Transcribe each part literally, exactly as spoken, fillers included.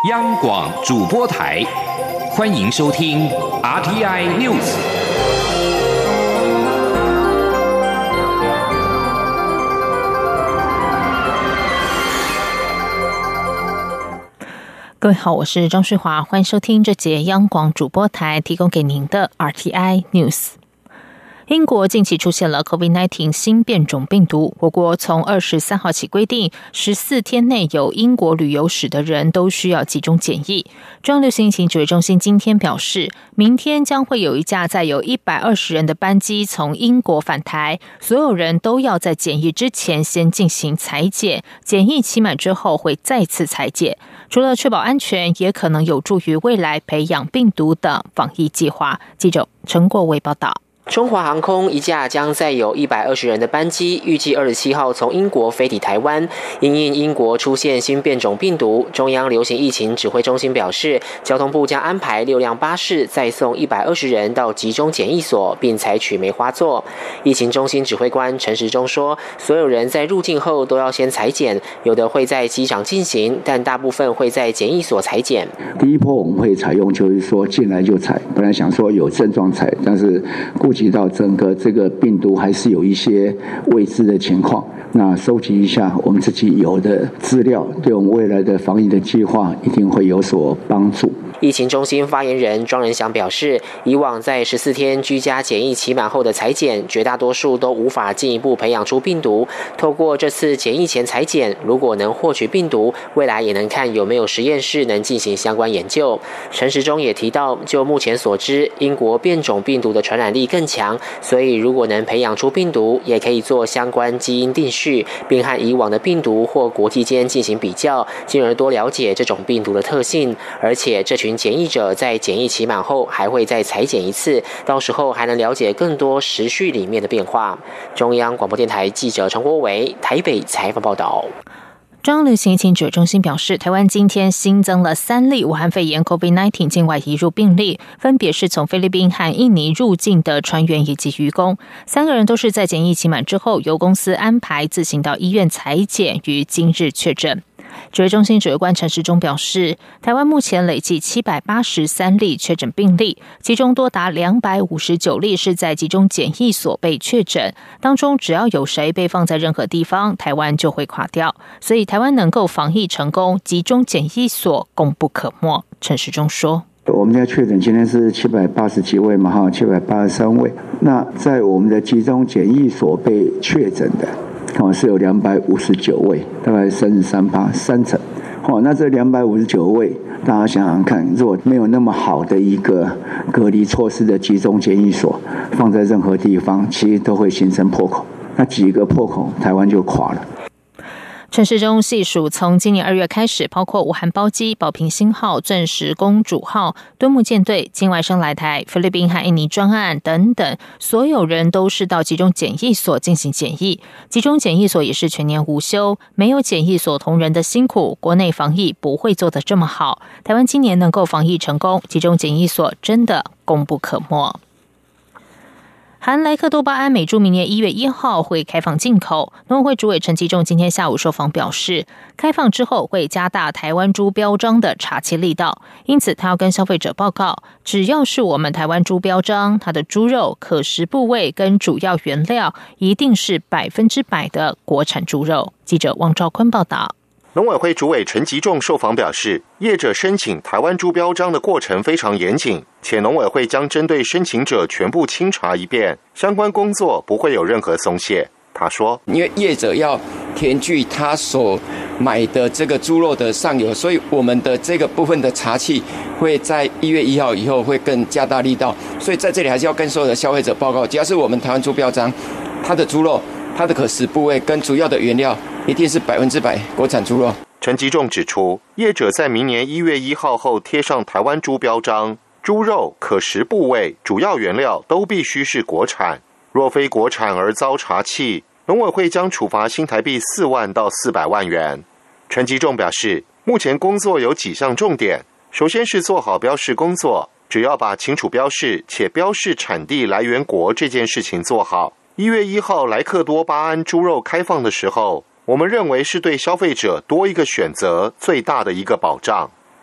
央广主播台，欢迎收听 R T I News。 各位好，我是张旭华，欢迎收听这节央广主播台提供给您的 R T I News。英国近期出现了 COVID 十九 新变种病毒，我国从二十三号起规定，十四天内有英国旅游史的人都需要集中检疫。中央流行疫情指挥中心今天表示，明天将会有一架载有一百二十人的班机从英国返台，所有人都要在检疫之前先进行采检，检疫期满之后会再次采检。除了确保安全，也可能有助于未来培养病毒的防疫计划。记者陈国维报道。 中华航空一架将载有一百二十人的班机，预计二十七号从英国飞抵台湾。因应英国出现新变种病毒，中央流行疫情指挥中心表示，交通部将安排六辆巴士载送一百二十人到集中检疫所，并采取梅花座。疫情中心指挥官陈时中说，所有人在入境后都要先采检，有的会在机场进行，但大部分会在检疫所采检。 第一波我们会采用就是说进来就采，本来想说有症状采，但是顾及到整个这个病毒还是有一些未知的情况，那收集一下我们自己有的资料，对我们未来的防疫的计划一定会有所帮助。 疫情中心发言人庄仁祥表示，以往在十四天居家检疫期满后的采检，绝大多数都无法进一步培养出病毒。透过这次检疫前采检，如果能获取病毒，未来也能看有没有实验室能进行相关研究。陈时中也提到，就目前所知，英国变种病毒的传染力更强，所以如果能培养出病毒，也可以做相关基因定序，并和以往的病毒或国际间进行比较，进而多了解这种病毒的特性。而且这群检疫者在检疫期满后还会再采检一次，到时候还能了解更多时序里面的变化。中央广播电台记者陈国维台北采访报道。 中央流行疫情指挥中心表示，台湾今天新增了三例武汉肺炎 COVID 十九 境外移入病例，分别是从菲律宾和印尼入境的船员以及渔工，三个人都是在检疫期满之后由公司安排自行到医院采检，于今日确诊。指挥中心指挥官陈时中表示，台湾目前累计七百八十三例确诊病例，其中多达两百五十九例是在集中检疫所被确诊，当中只要有谁被放在任何地方，台湾就会垮掉，所以台湾能够防疫成功，集中检疫所功不可没。陈时中说， 我们现在确诊今天是七百八十几位嘛，哈，七百八十三位。那在我们的集中检疫所被确诊的，哦，是有两百五十九位，大概三十三趴，三成。哦，那这两百五十九位，大家想想看，如果没有那么好的一个隔离措施的集中检疫所，放在任何地方，其实都会形成破口。那几个破口，台湾就垮了。 陈时中细数，从今年二月开始，包括武汉包机、保平星号、钻石公主号、敦睦舰队、境外生来台、菲律宾和印尼专案等等，所有人都是到集中检疫所进行检疫。集中检疫所也是全年无休，没有检疫所同仁的辛苦，国内防疫不会做得这么好。台湾今年能够防疫成功，集中检疫所真的功不可没。含莱克多巴胺美猪明年一月一号会开放进口。农委会主委陈吉仲今天下午受访表示，开放之后会加大台湾猪标章的查缉力道，因此他要跟消费者报告，只要是我们台湾猪标章，它的猪肉、可食部位跟主要原料一定是百分之百的国产猪肉。记者汪兆坤报道。 农委会主委陈吉仲受访表示，业者申请台湾猪标章的过程非常严谨，且农委会将针对申请者全部清查一遍，相关工作不会有任何松懈。他说， 因为业者要填具他所买的这个猪肉的上游，所以我们的这个部分的查器会在一月一号以后会更加大力道，所以在这里还是要跟所有的消费者报告，只要是我们台湾猪标章，它的猪肉、它的可食部位跟主要的原料一定是百分之百国产猪肉。 陈吉仲指出，业者在明年一月一号后贴上台湾猪标章，猪肉、可食部位、主要原料都必须是国产，若非国产而遭查缉，农委会将处罚新台币四万到四百万元。陈吉仲表示，目前工作有几项重点，首先是做好标示工作，只要把清楚标示且标示产地来源国这件事情做好。一月一号莱克多巴胺猪肉开放的时候，我们认为是对消费者多一个选择，最大的一个保障。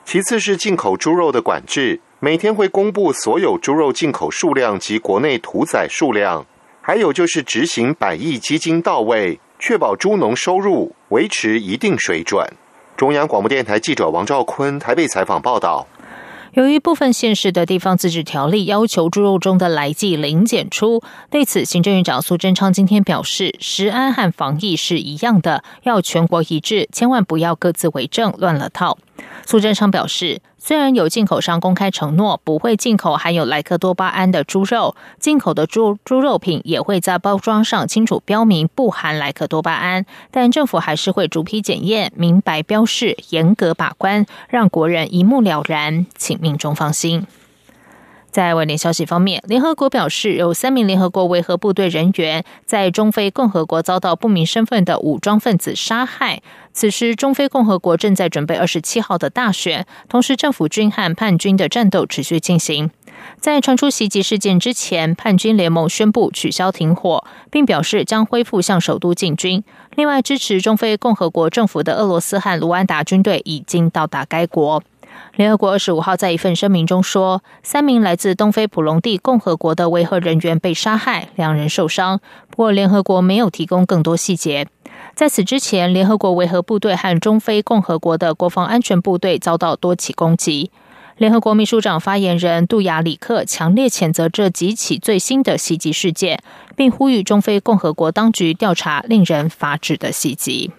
其次是进口猪肉的管制，每天会公布所有猪肉进口数量及国内屠宰数量。还有就是执行百亿基金到位，确保猪农收入维持一定水准。中央广播电台记者王兆坤台北采访报道。 由于部分县市的地方自治条例要求猪肉中的来剂零检出，对此行政院长苏贞昌今天表示，食安和防疫是一样的，要全国一致，千万不要各自为政，乱了套。苏贞昌表示，虽然有进口商公开承诺不会进口含有莱克多巴胺的猪肉，进口的猪猪肉品也会在包装上清楚标明不含莱克多巴胺，但政府还是会逐批检验，明白标示，严格把关，让国人一目了然，请民众放心。在外电消息方面，联合国表示，有三名联合国维和部队人员在中非共和国遭到不明身份的武装分子杀害。此时，中非共和国正在准备二十七号的大选，同时政府军和叛军的战斗持续进行。在传出袭击事件之前，叛军联盟宣布取消停火，并表示将恢复向首都进军。另外，支持中非共和国政府的俄罗斯和卢安达军队已经到达该国。联合国二十五号在一份声明中说，三名来自东非普隆地共和国的维和人员被杀害，两人受伤。不过，联合国没有提供更多细节。在此之前，联合国维和部队和中非共和国的国防安全部队遭到多起攻击。联合国秘书长发言人杜亚里克强烈谴责这几起最新的袭击事件，并呼吁中非共和国当局调查令人发指的袭击。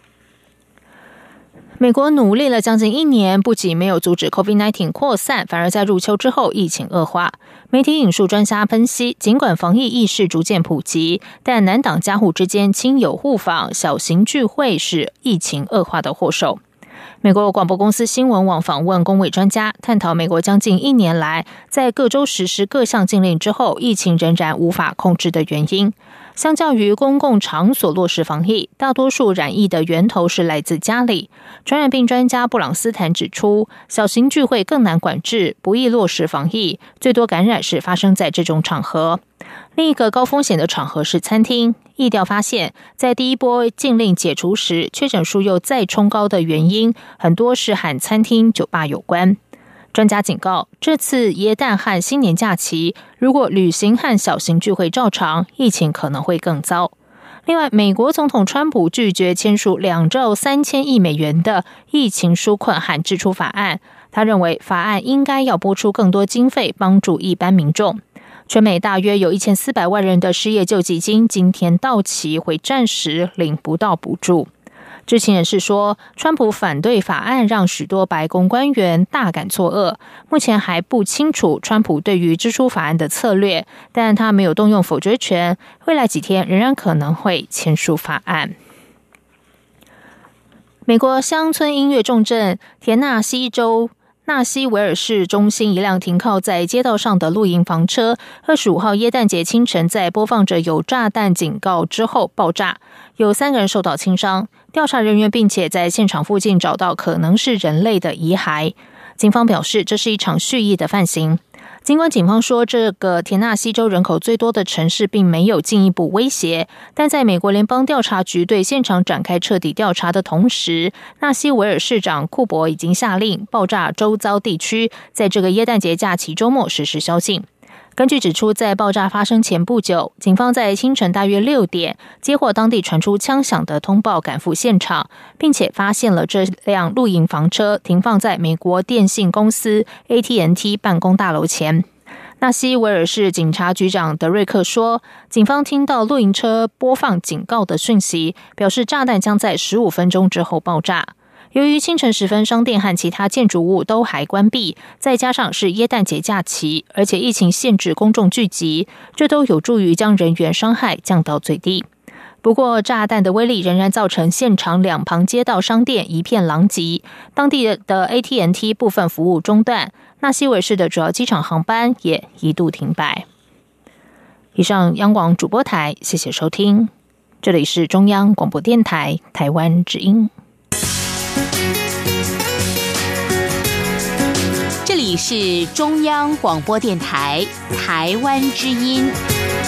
美国努力了将近一年，不仅没有阻止 COVID 十九 扩散，反而在入秋之后疫情恶化。媒体引述专家分析，尽管防疫意识逐渐普及，但男党家户之间亲友互访、小型聚会是疫情恶化的祸首。美国广播公司新闻网访问公卫专家，探讨美国将近一年来在各州实施各项禁令之后，疫情仍然无法控制的原因。相较于公共场所落实防疫，大多数染疫的源头是来自家里。传染病专家布朗斯坦指出，小型聚会更难管制，不易落实防疫，最多感染是发生在这种场合。另一个高风险的场合是餐厅。疫调发现，在第一波禁令解除时，确诊数又再冲高的原因，很多是和餐厅、酒吧有关。专家警告，这次耶诞和新年假期，如果旅行和小型聚会照常，疫情可能会更糟。另外，美国总统川普拒绝签署两兆三千亿美元的疫情纾困和支出法案，他认为法案应该要拨出更多经费帮助一般民众。全美大约有一千四百万人的失业救济金今天到期，会暂时领不到补助。知情人士说，川普反对法案让许多白宫官员大感错愕。目前还不清楚川普对于支出法案的策略，但他没有动用否决权，未来几天仍然可能会签署法案。美国乡村音乐重镇田纳西州纳西维尔市中心一辆停靠在街道上的露营房车，二十五号耶诞节清晨在播放着有炸弹警告之后爆炸，有三个人受到轻伤。调查人员并且在现场附近找到可能是人类的遗骸。警方表示，这是一场蓄意的犯行。尽管警方说这个田纳西州人口最多的城市并没有进一步威胁，但在美国联邦调查局对现场展开彻底调查的同时，纳西维尔市长库珀已经下令爆炸周遭地区在这个耶诞节假期周末实施宵禁。根据指出，在爆炸发生前不久，警方在清晨大约六点接获当地传出枪响的通报，赶赴现场，并且发现了这辆露营房车停放在美国电信公司 A T and T 办公大楼前。纳西维尔市警察局长德瑞克说，警方听到露营车播放警告的讯息，表示炸弹将在十五分钟之后爆炸。由于清晨时分商店和其他建筑物都还关闭，再加上是耶诞节假期，而且疫情限制公众聚集，这都有助于将人员伤害降到最低。不过炸弹的威力仍然造成现场两旁街道商店一片狼藉，当地的 A T and T 部分服务中断，纳西维市的主要机场航班也一度停摆。以上央广主播台，谢谢收听，这里是中央广播电台台湾之音。 这里是中央广播电台台湾之音。